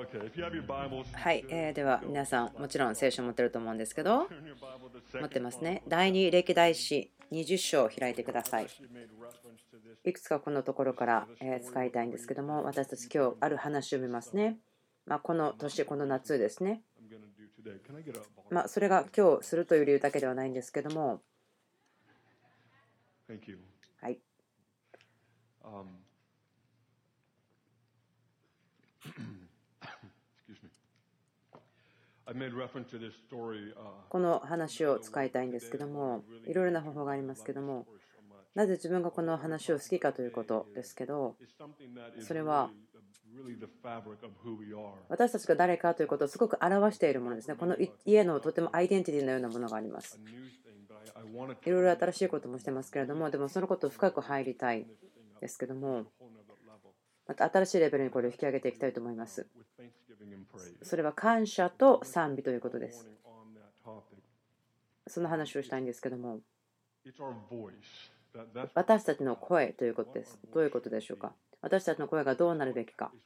はい、では皆さんもちろん聖書を持ってると思うんですけど、持ってますね。第二歴代史20章を開いてください。いくつかこのところから使いたいんですけども、私たち今日ある話を見ますね。この年、この夏ですね。それが今日するという理由だけではないんですけども、はい。この話を使いたいんですけども、いろいろな方法がありますけども、なぜ自分がこの話を好きかということですけど、それは私たちが誰かということをすごく表しているものですね。この家のとてもアイデンティティのようなものがあります。いろいろ新しいこともしてますけれども、でもそのことを深く入りたいですけども、また新しいレベルにこれを引き上げていきたいと思います。それは感謝と賛美ということです。その話をしたいんですけども、私たちの声ということです。どういうことでしょうか。私たちの声がどうなるべきか。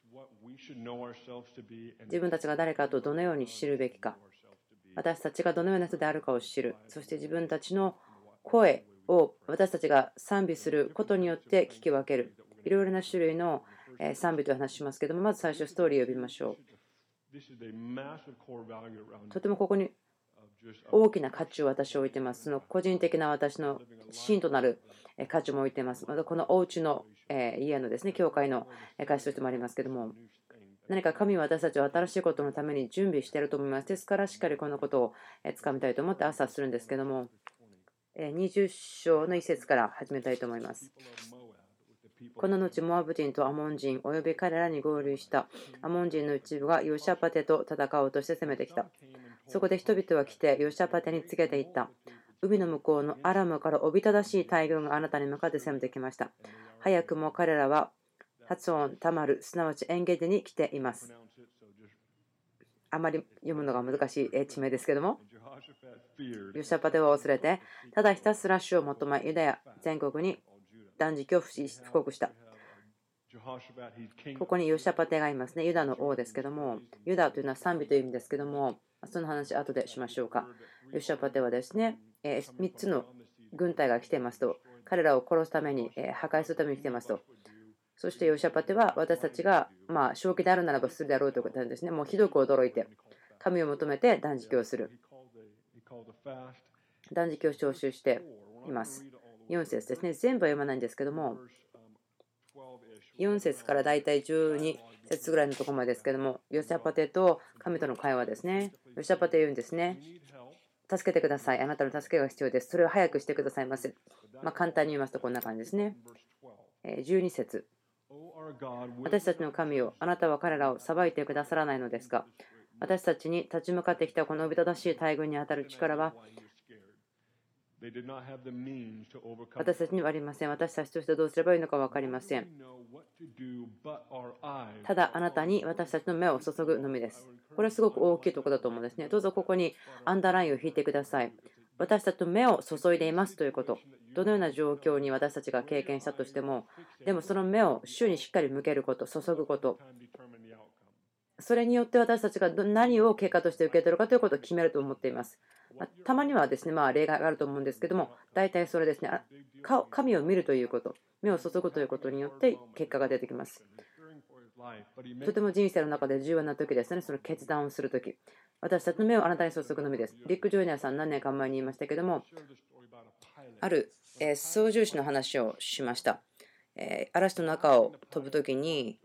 自分たちが誰かとどのように知るべきか。私たちがどのような人であるかを知る。そして自分たちの声を私たちが賛美することによって聞き分ける。いろいろな種類の賛美という話しますけども、まず最初ストーリーを呼びましょう。とてもここに大きな価値を私は置いています。その個人的な私の真となる価値も置いています。またこのお家の家のですね、教会の価値としてもありますけども、何か神は私たちを新しいことのために準備していると思います。ですからしっかりこのことをつかみたいと思って朝するんですけども、20章の一節から始めたいと思います。この後、モアブ人とアモン人および彼らに合流したアモン人の一部がヨシャパテと戦おうとして攻めてきた。そこで人々は来てヨシャパテに告げていった。海の向こうのアラムからおびただしい大軍があなたに向かって攻めてきました。早くも彼らは発音、タマル、すなわちエンゲディに来ています。あまり読むのが難しい地名ですけども、ヨシャパテは恐れて、ただひたすら主を求め、ユダヤ全国に断食を布告した。ここにヨシャパテがいますね。ユダの王ですけども、ユダというのは賛美という意味ですけども、その話後でしましょうか。ヨシャパテはですね、3つの軍隊が来ていますと、彼らを殺すために、破壊するために来ていますと。そしてヨシャパテは私たちが正気であるならばするであろうということなんですね。もうひどく驚いて、神を求めて断食をする。断食を招集しています。4節ですね。全部は読まないんですけども、4節からだいたい12節ぐらいのところまでですけども、ヨシャパテと神との会話ですね。ヨシャパテ言うんですね。助けてください。あなたの助けが必要です。それを早くしてくださいませ。簡単に言いますとこんな感じですね。12節。私たちの神よ、あなたは彼らを裁いてくださらないのですか。私たちに立ち向かってきたこのおびただしい大軍に当たる力は私たちにはありません。私たちとしてどうすればいいのか分かりません。ただあなたに私たちの目を注ぐのみです。これはすごく大きいところだと思うんですね。どうぞここにアンダーラインを引いてください。私たちの目を注いでいますということ。どのような状況に私たちが経験したとしても、でもその目を主にしっかり向けること、注ぐこと。それによって私たちが何を結果として受け取るかということを決めると思っています。たまにはですね、例外があると思うんですけども、大体それですね、神を見るということ、目を注ぐということによって結果が出てきます。とても人生の中で重要な時ですね、その決断をするとき。私たちの目をあなたに注ぐのみです。リック・ジョイナーさん、何年か前に言いましたけども、ある操縦士の話をしました。嵐の中を飛ぶときに、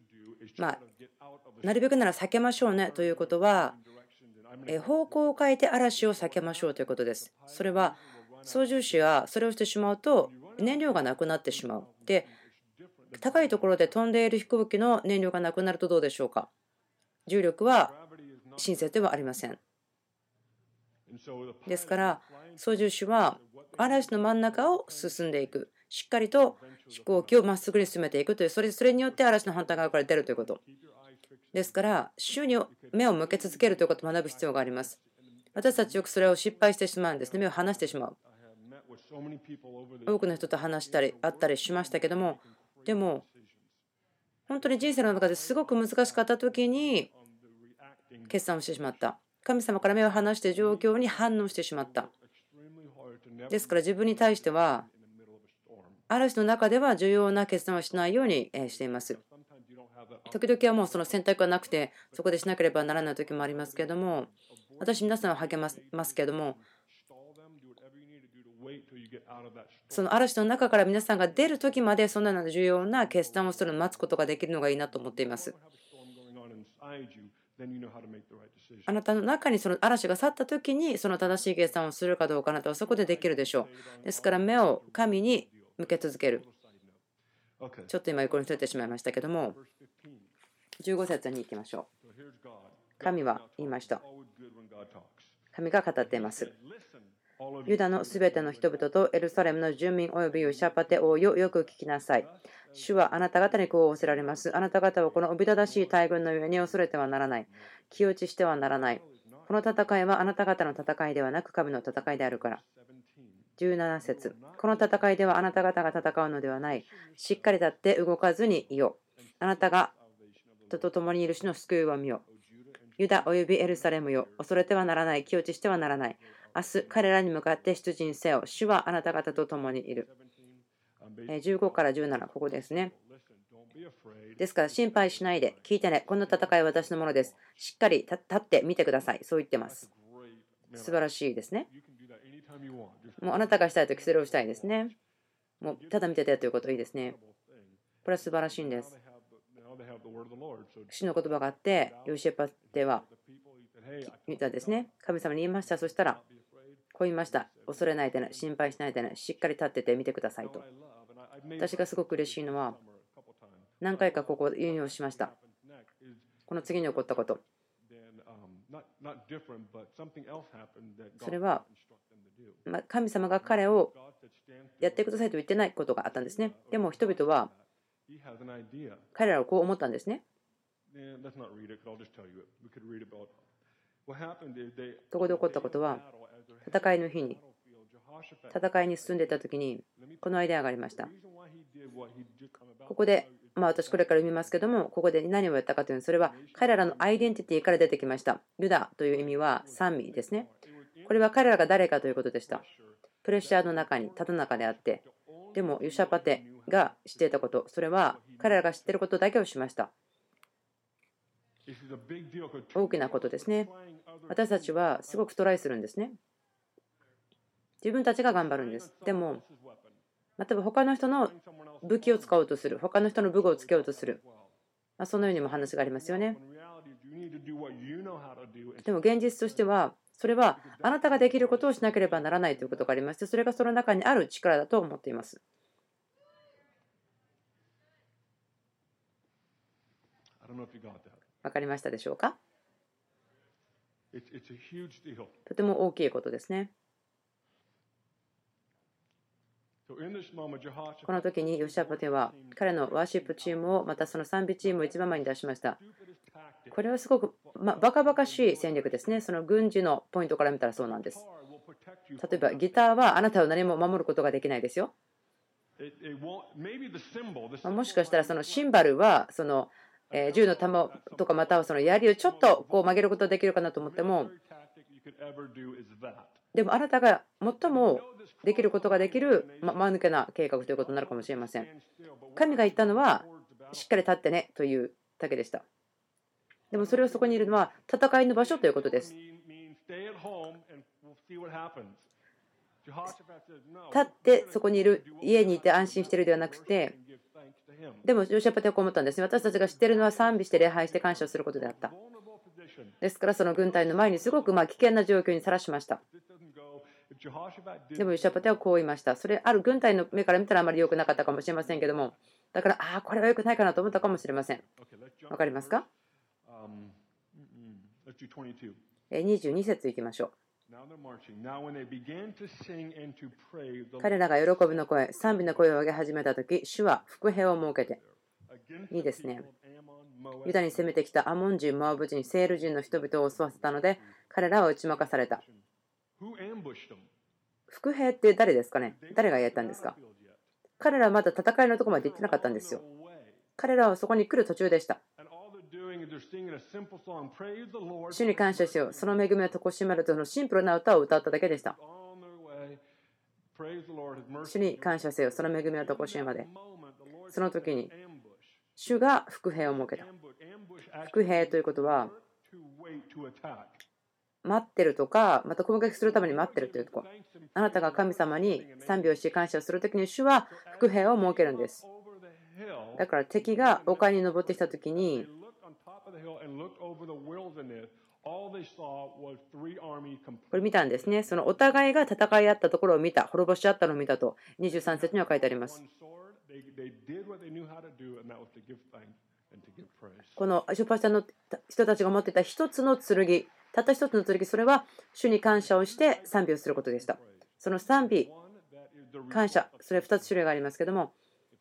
なるべくなら避けましょうねということは、方向を変えて嵐を避けましょうということです。それは操縦士はそれをしてしまうと燃料がなくなってしまう。で、高いところで飛んでいる飛行機の燃料がなくなるとどうでしょうか。重力は親切ではありません。ですから操縦士は嵐の真ん中を進んでいく。しっかりと飛行機をまっすぐに進めていくという、それによって嵐の反対側から出るということ。ですから、主に目を向け続けるということを学ぶ必要があります。私たちよくそれを失敗してしまうんですね。目を離してしまう。多くの人と話したり、会ったりしましたけども、でも、本当に人生の中ですごく難しかった時に、 決断をしてしまった。神様から目を離して状況に反応してしまった。ですから自分に対しては嵐の中では重要な決断をしないようにしています。時々はもうその選択がなくてそこでしなければならない時もありますけれども、私皆さんを励ますけれども、その嵐の中から皆さんが出る時までそんな重要な決断をするのを待つことができるのがいいなと思っています。あなたの中にその嵐が去った時にその正しい決断をするかどうか、あなたはそこでできるでしょう。ですから目を神に向け続ける。ちょっと今横にそれてしまいましたけども、15節に行きましょう。神は言いました。神が語っています。ユダのすべての人々とエルサレムの住民およびヨシャパテ王よ、よく聞きなさい。主はあなた方にこう仰せられます。あなた方はこのおびただしい大軍の上に恐れてはならない。気落ちしてはならない。この戦いはあなた方の戦いではなく神の戦いであるから。17節。この戦いではあなた方が戦うのではない。しっかり立って動かずにいよう。あなたが人と共にいる主の救いを見よ。ユダおよびエルサレムよ、恐れてはならない。気落ちしてはならない。明日彼らに向かって出陣せよ。主はあなた方と共にいる。15から17、ここですね。ですから心配しないで聞いてね。この戦いは私のものです。しっかり立ってみてください。そう言ってます。素晴らしいですね。もうあなたがしたいときそれをしたいですね。もうただ見ててということいいですね。これは素晴らしいんです。主の言葉があって、ヨシェパテは言ったですね。神様に言いました。そしたら、こう言いました。恐れないでね、心配しないでね、しっかり立っててみてくださいと。私がすごく嬉しいのは、何回かここ引用しました。この次に起こったこと。それは、神様が彼をやってくださいと言ってないことがあったんですね。でも人々は彼らはこう思ったんですね。ここで起こったことは、戦いの日に戦いに進んでいた時にこのアイデアがありました。ここで私これから読みますけども、ここで何をやったかというのは、それは彼らのアイデンティティから出てきました。ユダという意味は賛美ですね。これは彼らが誰かということでした。プレッシャーの中にただ中であって、でもヨシャパテが知っていたこと、それは彼らが知っていることだけをしました。大きなことですね。私たちはすごくトライするんですね。自分たちが頑張るんです。でも例えば他の人の武器を使おうとする、他の人の武具をつけようとする、そのようにも話がありますよね。でも現実としては、それはあなたができることをしなければならないということがありまして、それがその中にある力だと思っています。わかりましたでしょうか。とても大きいことですね。この時にヨシャパテは彼のワーシップチームをまたその賛美チームを一番前に出しました。これはすごくバカバカしい戦略ですね。その軍事のポイントから見たらそうなんです。例えばギターはあなたを何も守ることができないですよ。もしかしたらそのシンバルはその銃の弾とかまたはその槍をちょっとこう曲げることができるかなと思っても、でもあなたが最もできることができる間抜けな計画ということになるかもしれません。神が言ったのはしっかり立ってねというだけでした。でもそれをそこにいるのは戦いの場所ということです。立ってそこにいる、家にいて安心しているではなくて、でもヨシャパテはこう思ったんですね。私たちが知っているのは賛美して礼拝して感謝をすることであった。ですからその軍隊の前にすごく危険な状況にさらしました。でもヨシャパテはこう言いました。それある軍隊の目から見たらあまり良くなかったかもしれませんけども、だからこれは良くないかなと思ったかもしれません。わかりますか。22節いきましょう。彼らが喜びの声、賛美の声を上げ始めたとき、主は伏兵を設けて、いいですね。ユダに攻めてきたアモン人、モアブ人、セール人の人々を襲わせたので、彼らは打ち負かされた。伏兵って誰ですかね。誰がやったんですか。彼らはまだ戦いのところまで行ってなかったんですよ。彼らはそこに来る途中でした。 主に感謝しよう。その恵みをとこしまるとのシンプルな歌を歌っただけでした。主に感謝せよ。その恵みをとこしまで。その時に主が伏兵を設けた。伏兵ということは待ってるとか、また攻撃するために待ってるというところ。あなたが神様に賛美をし感謝をするときに主は伏兵を設けるんです。だから敵が丘に登ってきたときにこれ見たんですね。そのお互いが戦い合ったところを見た、滅ぼし合ったのを見たと23節には書いてあります。このシュパシャの人たちが持っていた一つの剣、たった一つの剣、それは主に感謝をして賛美をすることでした。その賛美、感謝、それ2つ種類がありますけども、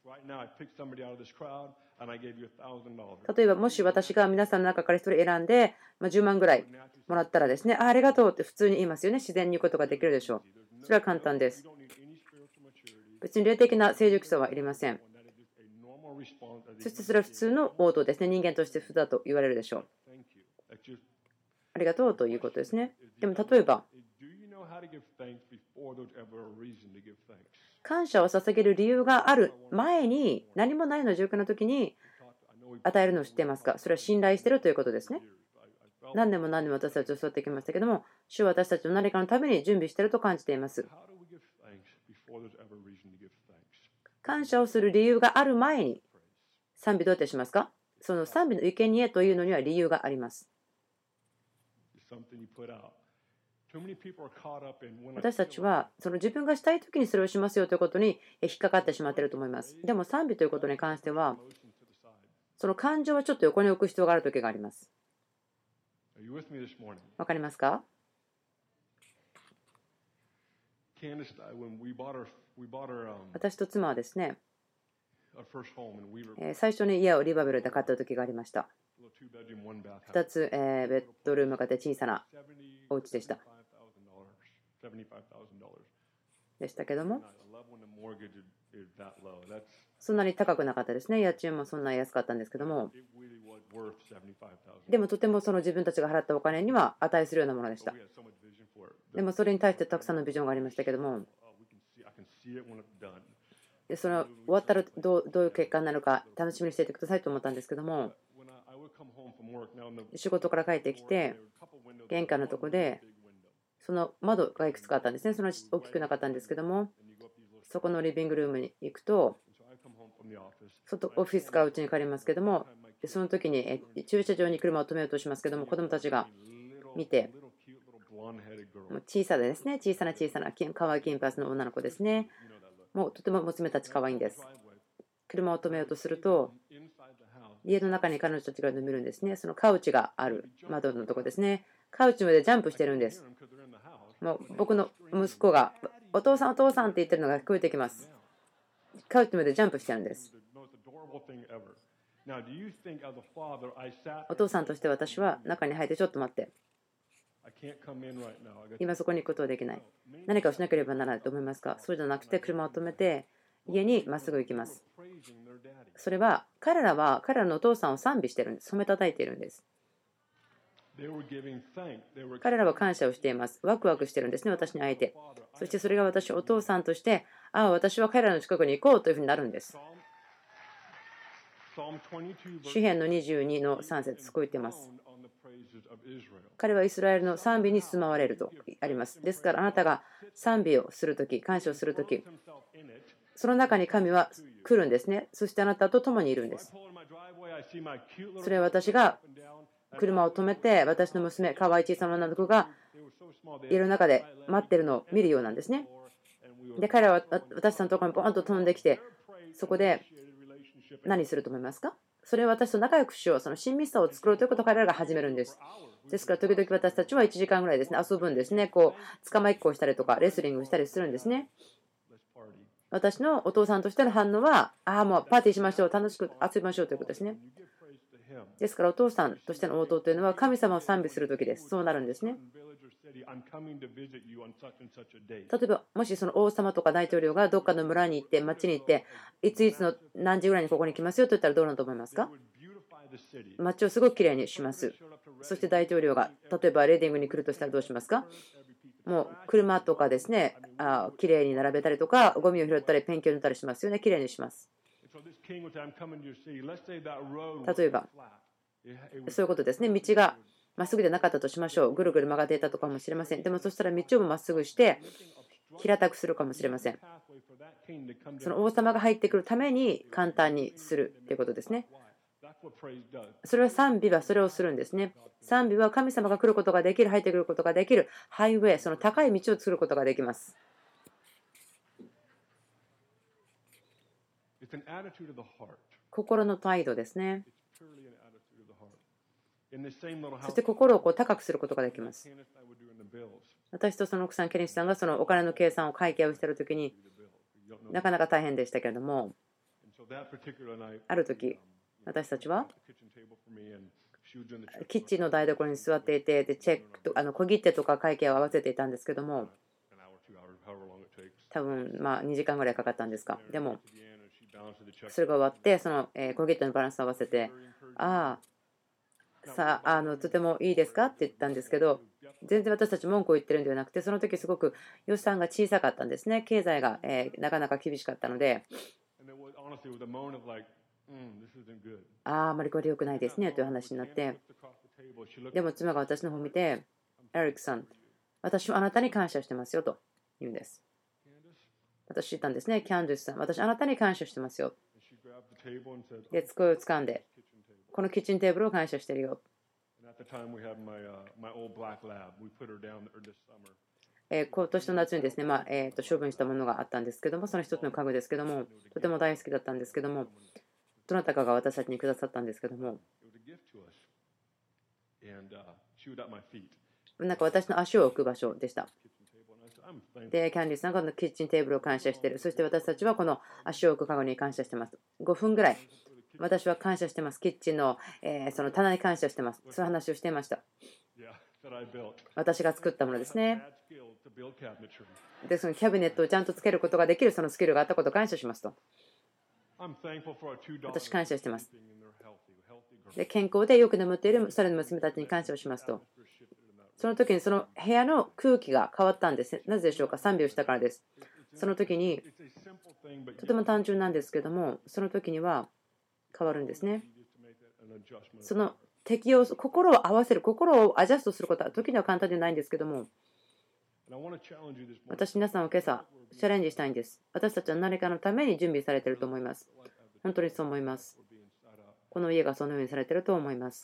例えばもし私が皆さんの中から1人選んで10万ぐらいもらったらですね、ありがとうって普通に言いますよね。自然に言うことができるでしょう。それは簡単です。別に霊的な成熟さはいりません。そしてそれは普通の応答ですね。人間として普通だと言われるでしょう。ありがとうということですね。でも例えば感謝を捧げる理由がある前に、何もないような状況の時に与えるのを知っていますか？それは信頼しているということですね。何年も何年も私たちを育ってきましたけども、主は私たちの何かのために準備していると感じています。感謝をする理由がある前に賛美どうやってしますか？その賛美の生贄というのには理由があります。私たちはその自分がしたい時にそれをしますよということに引っかかってしまっていると思います。でも賛美ということに関しては、その感情はちょっと横に置く必要がある時があります。わかりますか？私と妻はですね、最初に家をリバベルで買った時がありました。2つベッドルームがあって小さなお家でした。でしたけども、そんなに高くなかったですね。家賃もそんなに安かったんですけども、でもとてもその自分たちが払ったお金には値するようなものでした。でもそれに対してたくさんのビジョンがありましたけども、でその終わったらどういう結果になるか楽しみにしていてくださいと思ったんですけども、仕事から帰ってきて玄関のとこでその窓がいくつかあったんですね。その大きくなかったんですけども、そこのリビングルームに行くと、外オフィスから家に帰りますけども、その時に駐車場に車を止めようとしますけども、子供たちが見て、小さでですね、小さな可愛い金髪の女の子ですね。もうとても娘たち可愛いんです。車を止めようとすると、家の中に彼女たちが眠るんですね。そのカウチがある窓のとこですね。カウチまでジャンプしてるんです。もう僕の息子がお父さんお父さんって言ってるのが聞こえてきます。カウチまでジャンプしてるんです。お父さんとして私は中に入ってちょっと待って。今そこに行くことはできない。何かをしなければならないと思いますか？そうじゃなくて車を止めて家にまっすぐ行きます。それは彼らのお父さんを賛美しているんです。褒めたたいているんです。彼らは感謝をしています。ワクワクしてるんですね、私に会えて。そしてそれが私お父さんとして、私は彼らの近くに行こうというふうになるんです。詩編の22の3節こう言っています。彼はイスラエルの賛美に住まわれるとあります。ですからあなたが賛美をするとき、感謝をするとき、その中に神は来るんですね。そしてあなたと共にいるんです。それは私が車を止めて、私の娘、可愛い小さな女の子が家の中で待ってるのを見るようなんですね。で、彼らは私さんのところにボーンと飛んできて、そこで何すると思いますか？それは私と仲良くしよう、その親密さを作ろうということを彼らが始めるんです。ですから、時々私たちは1時間ぐらいですね、遊ぶんですね。捕まえっこをしたりとか、レスリングしたりするんですね。私のお父さんとしての反応は、もうパーティーしましょう、楽しく遊びましょうということですね。ですから、お父さんとしての応答というのは、神様を賛美するときです。そうなるんですね。例えば、もしその王様とか大統領がどっかの村に行って、町に行って、いついつの何時ぐらいにここに来ますよと言ったらどうなると思いますか？ 街をすごくきれいにします。そして大統領が例えばレーディングに来るとしたらどうしますか？もう車とかですね、きれいに並べたりとか、ゴミを拾ったり、ペンキを塗ったりしますよね。きれいにします。例えば、そういうことですね。道がまっすぐでなかったとしましょう。ぐるぐる曲がっていたとかもしれません。でもそしたら道をまっすぐして平たくするかもしれません。その王様が入ってくるために簡単にするということですね。それは賛美はそれをするんですね。賛美は神様が来ることができる、入ってくることができるハイウェイ、その高い道を作ることができます。心の態度ですね。そして心を高くすることができます。私とその奥さん、ケニスさんがそのお金の計算を会計をしているときになかなか大変でしたけれども、ある時私たちはキッチンの台所に座っていて、チェックと小切手とか会計を合わせていたんですけども、多分2時間ぐらいかかったんですか。でもそれが終わってその小切手のバランスを合わせて、とてもいいですかって言ったんですけど、全然私たち文句を言ってるんではなくて、その時すごく予算が小さかったんですね。経済がなかなか厳しかったので、あまりこれ良くないですねという話になって、でも妻が私の方を見て、エリックさん、私はあなたに感謝してますよと言うんです。私言ったんですね、キャンディスさん、私あなたに感謝してますよ。で、机を掴んで、このキッチンテーブルを感謝してるよ。今年の夏にですね、処分したものがあったんですけども、その一つの家具ですけども、とても大好きだったんですけども、どなたかが私たちにくださったんですけども、なんか私の足を置く場所でした。で、キャンディーさんがこのキッチンテーブルを感謝している。そして私たちはこの足を置く家具に感謝しています。5分ぐらい私は感謝してます。キッチンのその棚に感謝してます。そういう話をしていました。私が作ったものですね。で、そのキャビネットをちゃんとつけることができるそのスキルがあったことを感謝しますと。私感謝してます。で、健康でよく眠っているそれの娘たちに感謝をしますと。その時にその部屋の空気が変わったんです。なぜでしょうか。賛美をしたからです。その時にとても単純なんですけども、その時には変わるんですね。その適応、心を合わせる、心をアジャストすることは時には簡単ではないんですけども、私皆さんを今朝チャレンジしたいんです。私たちは何かのために準備されていると思います。本当にそう思います。この家がそのようにされていると思います。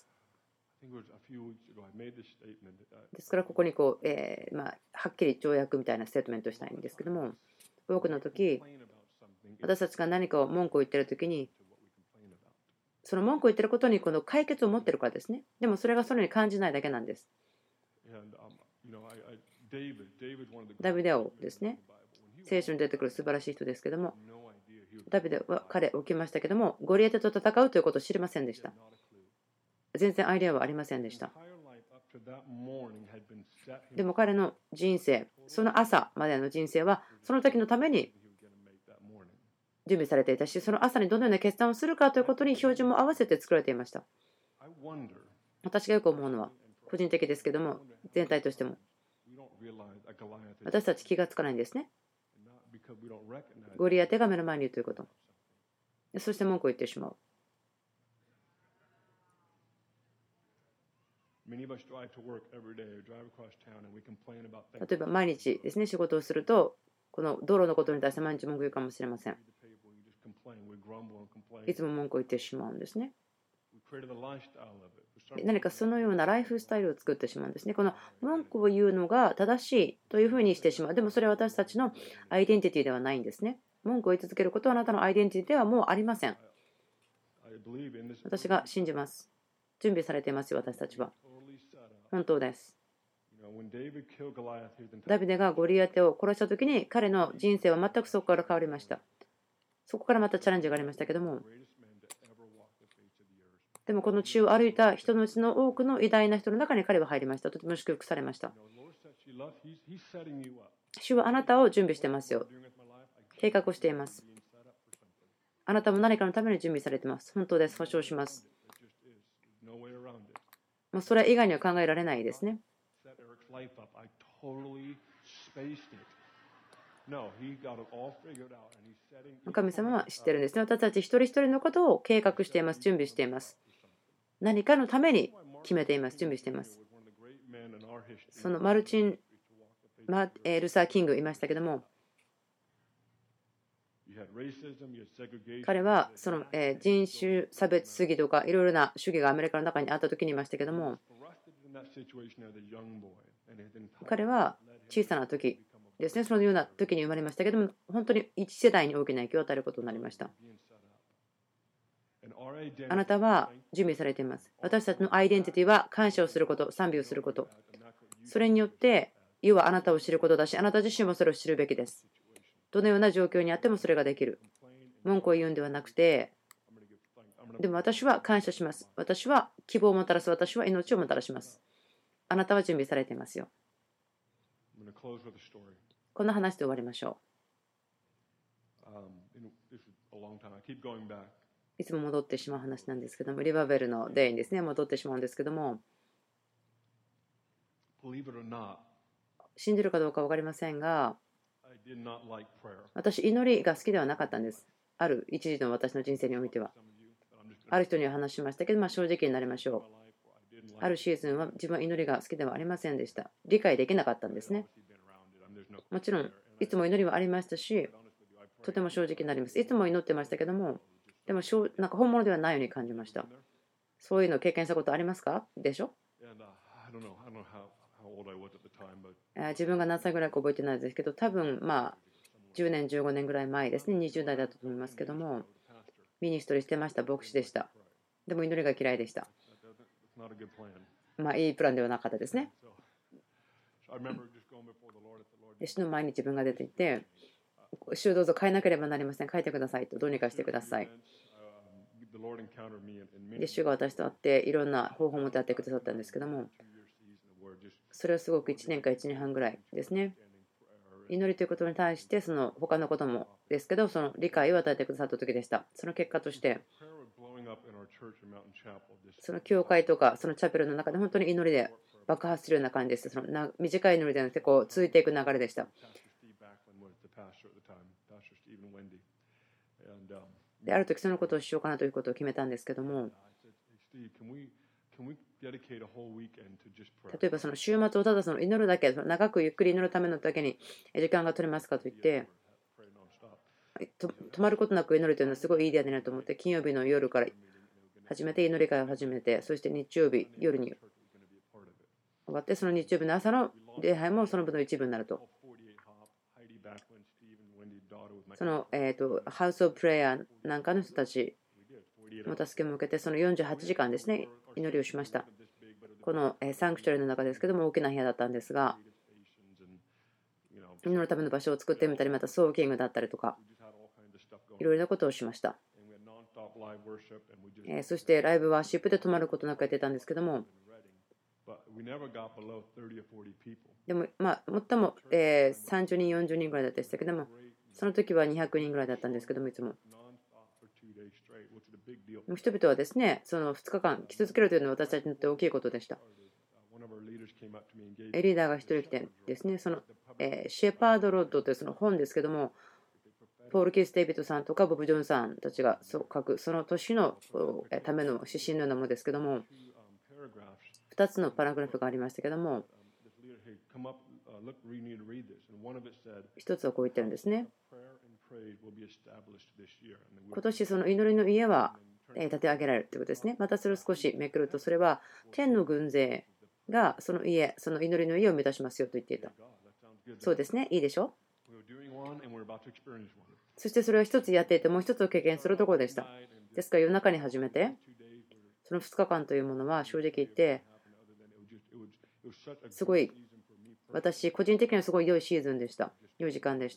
ですからここにはっきり条約みたいなステートメントをしたいんですけども、多くの時私たちが何かを文句を言っている時に、その文句を言っていることにこの解決を持っているからですね。でもそれがそのように感じないだけなんです。ダビデ王ですね。聖書に出てくる素晴らしい人ですけども、ダビデは彼起きましたけども、ゴリアテと戦うということを知りませんでした。全然アイデアはありませんでした。でも彼の人生、その朝までの人生はその時のために準備されていたし、その朝にどのような決断をするかということに標準も合わせて作られていました。私がよく思うのは、個人的ですけども、全体としても、私たち気がつかないんですね。ゴリアテが目の前にいるということ。そして文句を言ってしまう。例えば毎日ですね、仕事をすると、この道路のことに対して毎日文句言うかもしれません。いつも文句を言ってしまうんですね。何かそのようなライフスタイルを作ってしまうんですね。この文句を言うのが正しいというふうにしてしまう。でもそれは私たちのアイデンティティではないんですね。文句を言い続けることはあなたのアイデンティティではもうありません。私が信じます。準備されていますよ、私たちは。本当です。ダビデがゴリアテを殺したときに彼の人生は全くそこから変わりました。そこからまたチャレンジがありましたけども、でもこの地を歩いた人のうちの多くの偉大な人の中に彼は入りました。とても祝福されました。主はあなたを準備していますよ。計画をしています。あなたも何かのために準備されています。本当です。保証します。 もうそれ以外には考えられないですね。神様は知ってるんですね。私たち一人一人のことを計画しています、準備しています。何かのために決めています、準備しています。そのマルチン・ルサー・キングいましたけども、彼はその人種差別主義とかいろいろな主義がアメリカの中にあった時にいましたけども、彼は小さな時ですね、そのような時に生まれましたけども、本当に一世代に大きな影響を与えることになりました。あなたは準備されています。私たちのアイデンティティは感謝をすること、賛美をすること。それによって、要はあなたを知ることだし、あなた自身もそれを知るべきです。どのような状況にあってもそれができる。文句を言うんではなくて、でも私は感謝します。私は希望をもたらす。私は命をもたらします。あなたは準備されていますよ。こんな話で終わりましょう。いつも戻ってしまう話なんですけども、リバベルのデイにですね、戻ってしまうんですけども、信じるかどうか分かりませんが、私、祈りが好きではなかったんです。ある一時の私の人生においては。ある人には話しましたけど、正直になりましょう。あるシーズンは自分は祈りが好きではありませんでした。理解できなかったんですね。もちろん、いつも祈りはありましたし、とても正直になります。いつも祈ってましたけども、でもなんか本物ではないように感じました。そういうのを経験したことありますかでしょ。自分が何歳ぐらいか覚えてないですけど、多分10年、15年ぐらい前ですね、20代だったと思いますけども、ミニストリーしてました、牧師でした。でも祈りが嫌いでした。いいプランではなかったですね。主の前に自分が出ていて、主をどうぞ変えなければなりません。変えてくださいと、どうにかしてください。で、主が私と会っていろんな方法を持ってやってくださったんですけども、それはすごく1年か1年半ぐらいですね。祈りということに対して、その他のこともですけど、その理解を与えてくださった時でした。その結果として、その教会とかそのチャペルの中で本当に祈りで爆発するような感じです。その短い祈りではなくてこう続いていく流れでした。で、ある時そのことをしようかなということを決めたんですけども、例えばその週末をただその祈るだけ、長くゆっくり祈るためのだけに時間が取れますかと言って、止まることなく祈るというのはすごいいいアイデアだなと思って、金曜日の夜から始めて祈り会を始めて、そして日曜日夜に終わって、その日曜日の朝の礼拝もその分の一部になると。そのハウス・オブ・プレイヤーなんかの人たちの助けも受けて、その48時間ですね、祈りをしました。このサンクチュアリの中ですけども、大きな部屋だったんですが、祈るための場所を作ってみたり、またソーキングだったりとか、いろいろなことをしました。そしてライブワーシップで止まることなくやってたんですけども、でも最も30人、40人ぐらいでしたけども、その時は200人ぐらいだったんですけども、いつも。人々はですね、その2日間来続けるというのは私たちにとって大きいことでした。リーダーが1人来てですね、そのシェパード・ロッドというその本ですけども、ポール・キース・デイビッドさんとかボブ・ジョンさんたちが書くその年のための指針のようなものですけども、2つのパラグラフがありましたけども、1つはこう言ってるんですね。今年その祈りの家は立て上げられるということですね。またそれを少しめくると、それは天の軍勢がその家、その祈りの家を目指しますよと言っていた。そうですね、いいでしょ。そしてそれを一つやっていて、もう一つを経験するところでした。ですから夜中に始めて、その2日間というものは正直言って、すごい、私、個人的にはすごい良いシーズンでした。良い時間でした。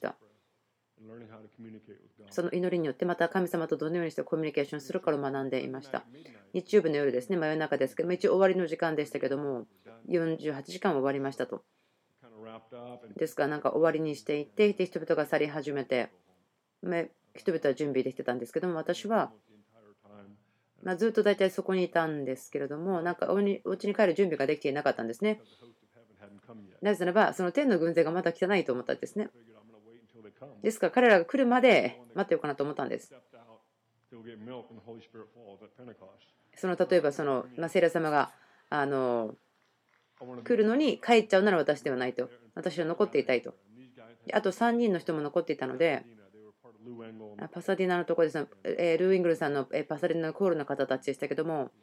その祈りによってまた神様とどのようにしてコミュニケーションするかを学んでいました。日曜日の夜ですね、真夜中ですけど、一応終わりの時間でしたけども、48時間終わりましたと。ですから、なんか終わりにしていって、人々が去り始めて、人々は準備できてたんですけども、私はずっと大体そこにいたんですけれども、なんかお家に帰る準備ができていなかったんですね。なぜならば、その天の軍勢がまだ来てないと思ったんですね。ですから彼らが来るまで待ってようかなと思ったんです。例えば聖霊様が来るのに帰っちゃうなら私ではないと。私は残っていたいと。あと3人の人も残っていたので、パサディナのところですね、ルーイングルさんのパサディナのコールの方たちでしたけども、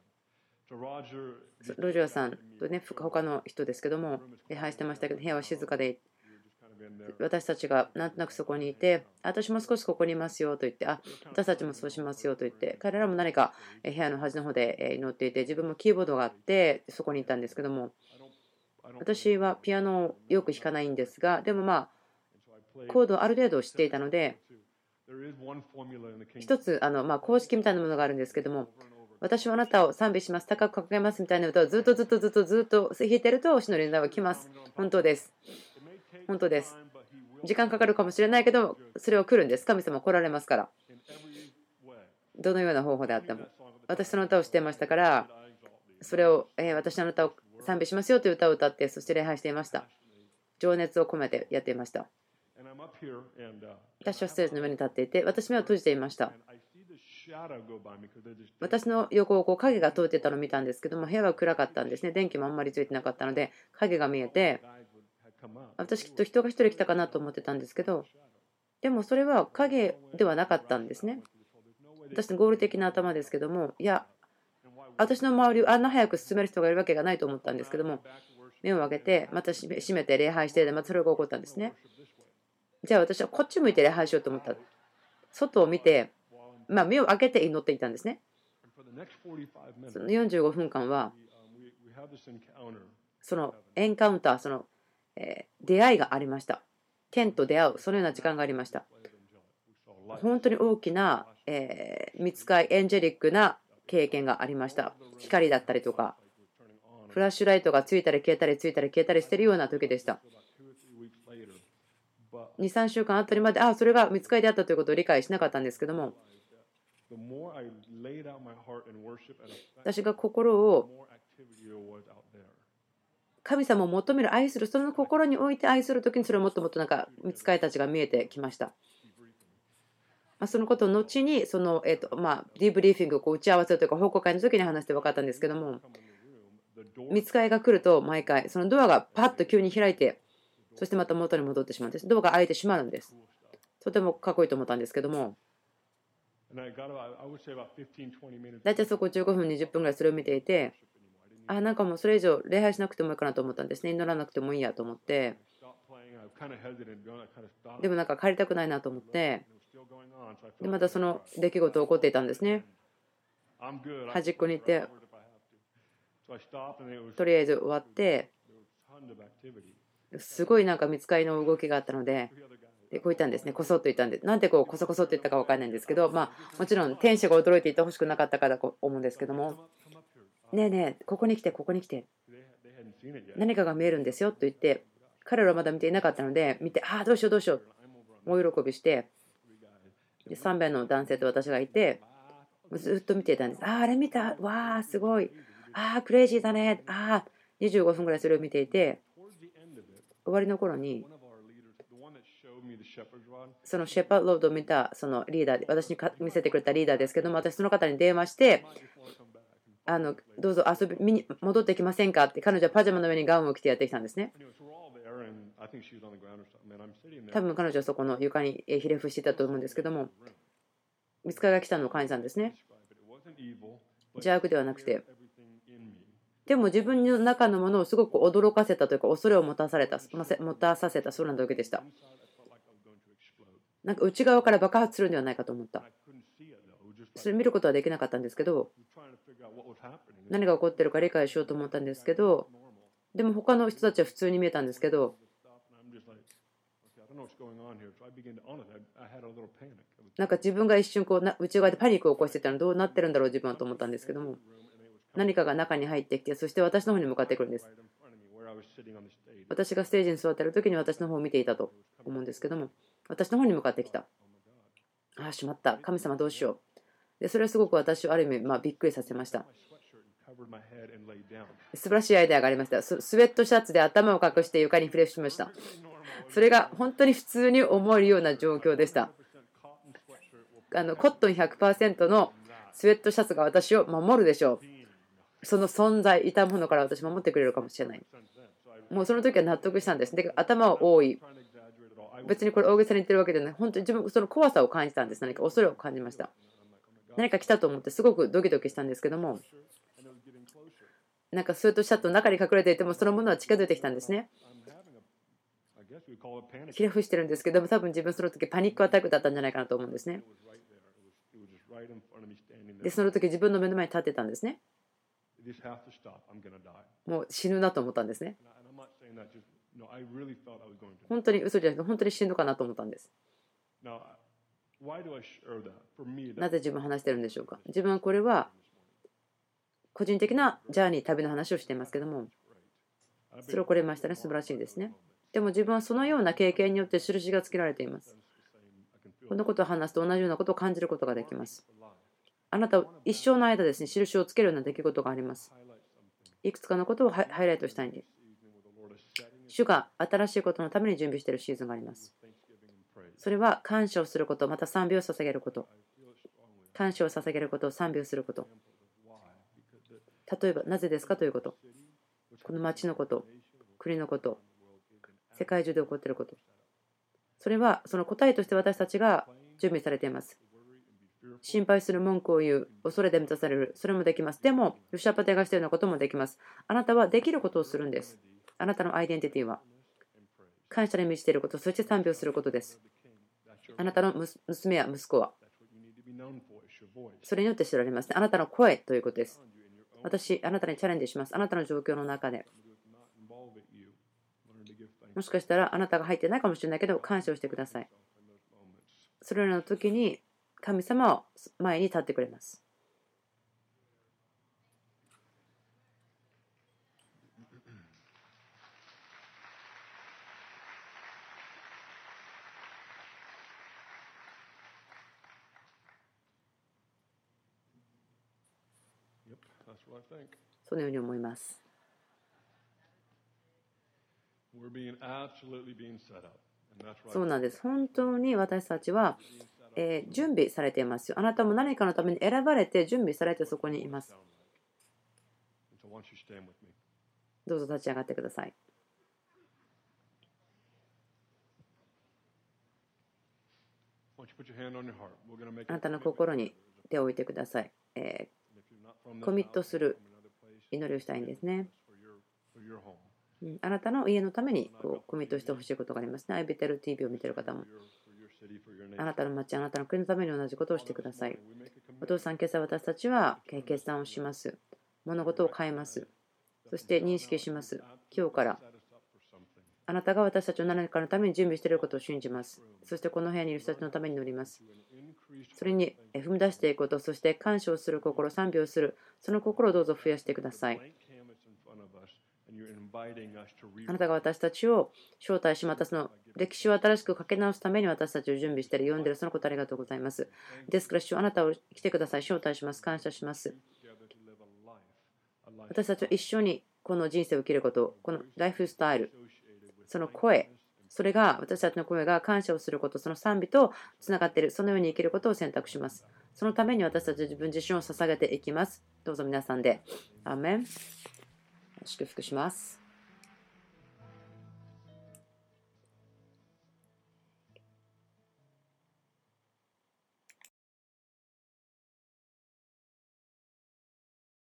ロジャーさんとね、他の人ですけども、礼拝してましたけど、部屋は静かで、私たちがなんとなくそこにいて、私も少しここにいますよと言って、私たちもそうしますよと言って、彼らも何か部屋の端の方で祈っていて、自分もキーボードがあって、そこにいたんですけども、私はピアノをよく弾かないんですが、でもコードをある程度知っていたので、一つ公式みたいなものがあるんですけども、私はあなたを賛美します、高く掲げますみたいな歌をずっと弾いてると、主の臨在は来ます。本当です。本当です。時間かかるかもしれないけど、それは来るんです。神様来られますから。どのような方法であっても。私その歌をしていましたから、それを、私あなたを賛美しますよという歌を歌って、そして礼拝していました。情熱を込めてやっていました。私はステージの上に立っていて、私目を閉じていました。私の横を影が通っていたのを見たんですけども、部屋は暗かったんですね。電気もあんまりついてなかったので、影が見えて、私きっと人が一人来たかなと思ってたんですけど、でもそれは影ではなかったんですね。私の合理的な頭ですけども、いや、私の周りをあんな早く進める人がいるわけがないと思ったんですけども、目を開けて、また閉めて礼拝して、またそれが起こったんですね。じゃあ私はこっち向いて礼拝しようと思った。外を見て、目を開けて祈っていたんですね。その45分間は、そのエンカウンター、出会いがありました。天と出会う、そのような時間がありました。本当に大きな、見つかい、エンジェリックな経験がありました。光だったりとか、フラッシュライトがついたり消えたりついたり消えたりしているような時でした。2、3週間あたりまで、それが見つかりであったということを理解しなかったんですけども、私が心を神様を求める、愛する、その心において愛するときに、それをもっともっと見つかりたちが見えてきました。そのことを後にディーブリーフィングを打ち合わせというか報告会の時に話して分かったんですけども、見つかりが来ると毎回そのドアがパッと急に開いて、そしてまた元に戻ってしまうんです。ドアが開いてしまうんです。とてもかっこいいと思ったんですけども、大体そこ15分20分ぐらいそれを見ていて、なんかもうそれ以上礼拝しなくてもいいかなと思ったんですね。祈らなくてもいいやと思って、でもなんか帰りたくないなと思って、でまたその出来事起こっていたんですね。端っこに行ってとりあえず終わって、すごいなんか見つかりの動きがあったので、こう言ったんですね。こそっと言ったんで、なんでこそこそって言ったか分からないんですけど、もちろん天使が驚いていてほしくなかったからと思うんですけども、ねえねえ、ここに来て、ここに来て、何かが見えるんですよと言って、彼らはまだ見ていなかったので、見て、どうしようどうしよう、大喜びして、3名の男性と私がいて、ずっと見ていたんです。あれ見た、わー、すごい、クレイジーだね、25分ぐらいそれを見ていて、終わりの頃に、そのシェパーロードを見たそのリーダーで、私に見せてくれたリーダーですけども、私その方に電話して、どうぞ遊びに戻ってきませんかって、彼女はパジャマの上にガウンを着てやってきたんですね。多分彼女はそこの床にひれ伏していたと思うんですけども、見つかりが来たのを感じたんですね。邪悪ではなくて、でも自分の中のものをすごく驚かせたというか、恐れを持たさせたそうな時でした。なんか内側から爆発するんではないかと思った。それ見ることはできなかったんですけど、何が起こってるか理解しようと思ったんですけど、でも他の人たちは普通に見えたんですけど、なんか自分が一瞬内側でパニックを起こしてたのどうなってるんだろう自分はと思ったんですけども、何かが中に入ってきて、そして私の方に向かってくるんです。私がステージに座っている時に私の方を見ていたと思うんですけども、私の方に向かってきた。しまった、神様どうしよう。 でそれはすごく私をある意味びっくりさせました。素晴らしいアイデアがありました。スウェットシャツで頭を隠して床にフレッシュしました。それが本当に普通に思えるような状況でした。コットン 100% のスウェットシャツが私を守るでしょう。その存在、いたものから私を守ってくれるかもしれない。もうその時は納得したんです。で、頭を覆い、別にこれ大げさに言ってるわけじゃない。本当に自分、その怖さを感じたんです。何か恐れを感じました。何か来たと思ってすごくドキドキしたんですけども、なんかスウェットシャツの中に隠れていてもそのものは近づいてきたんですね。ひれ伏してるんですけども、多分自分その時パニックアタックだったんじゃないかなと思うんですね。で、その時自分の目の前に立ってたんですね。もう死ぬなと思ったんですね。本当に嘘じゃなくて本当に死ぬかなと思ったんです。なぜ自分話してるんでしょうか。自分はこれは個人的なジャーニー、旅の話をしていますけども、それをこれましたね。素晴らしいですね。でも自分はそのような経験によって印がつけられています。このことを話すと同じようなことを感じることができます。あなたは一生の間ですね、印をつけるような出来事があります。いくつかのことをハイライトしたいんです。主が新しいことのために準備しているシーズンがあります。それは感謝をすること、また賛美を捧げること。感謝を捧げること、賛美をすること。例えば、なぜですかということ。この町のこと、国のこと、世界中で起こっていること。それはその答えとして私たちが準備されています。心配する、文句を言う、恐れで満たされる、それもできます。でも、ヨシャパテがしているようなこともできます。あなたはできることをするんです。あなたのアイデンティティは感謝に満ちていること、そして賛美をすることです。あなたの娘や息子はそれによって知られますね。あなたの声ということです。私、あなたにチャレンジします。あなたの状況の中で。もしかしたらあなたが入ってないかもしれないけど、感謝をしてください。それらの時に神様は前に立ってくれます。そのように思います。そうなんです。本当に私たちは準備されていますよ。あなたも何かのために選ばれて準備されてそこにいます。どうぞ立ち上がってください。あなたの心に手を置いてください。コミットする祈りをしたいんですね。あなたの家のためにコミットしてほしいことがありますね。アイビテル TV を見ている方も。あなたの町、あなたの国のために同じことをしてください。お父さん、今朝私たちは決断をします。物事を変えます。そして認識します。今日からあなたが私たちを何かのために準備していることを信じます。そしてこの部屋にいる人たちのために祈ります。それに踏み出していくこと、そして感謝をする心、賛美をする、その心をどうぞ増やしてください。あなたが私たちを招待し、またその歴史を新しく書き直すために私たちを準備している、読んでいる、そのことありがとうございます。ですから、主あなたを来てください。招待します。感謝します。私たちは一緒にこの人生を生きること、このライフスタイル、その声、それが私たちの声が感謝をすること、その賛美とつながっている、そのように生きることを選択します。そのために私たち自分自身を捧げていきます。どうぞ皆さんで。アーメン。祝福します。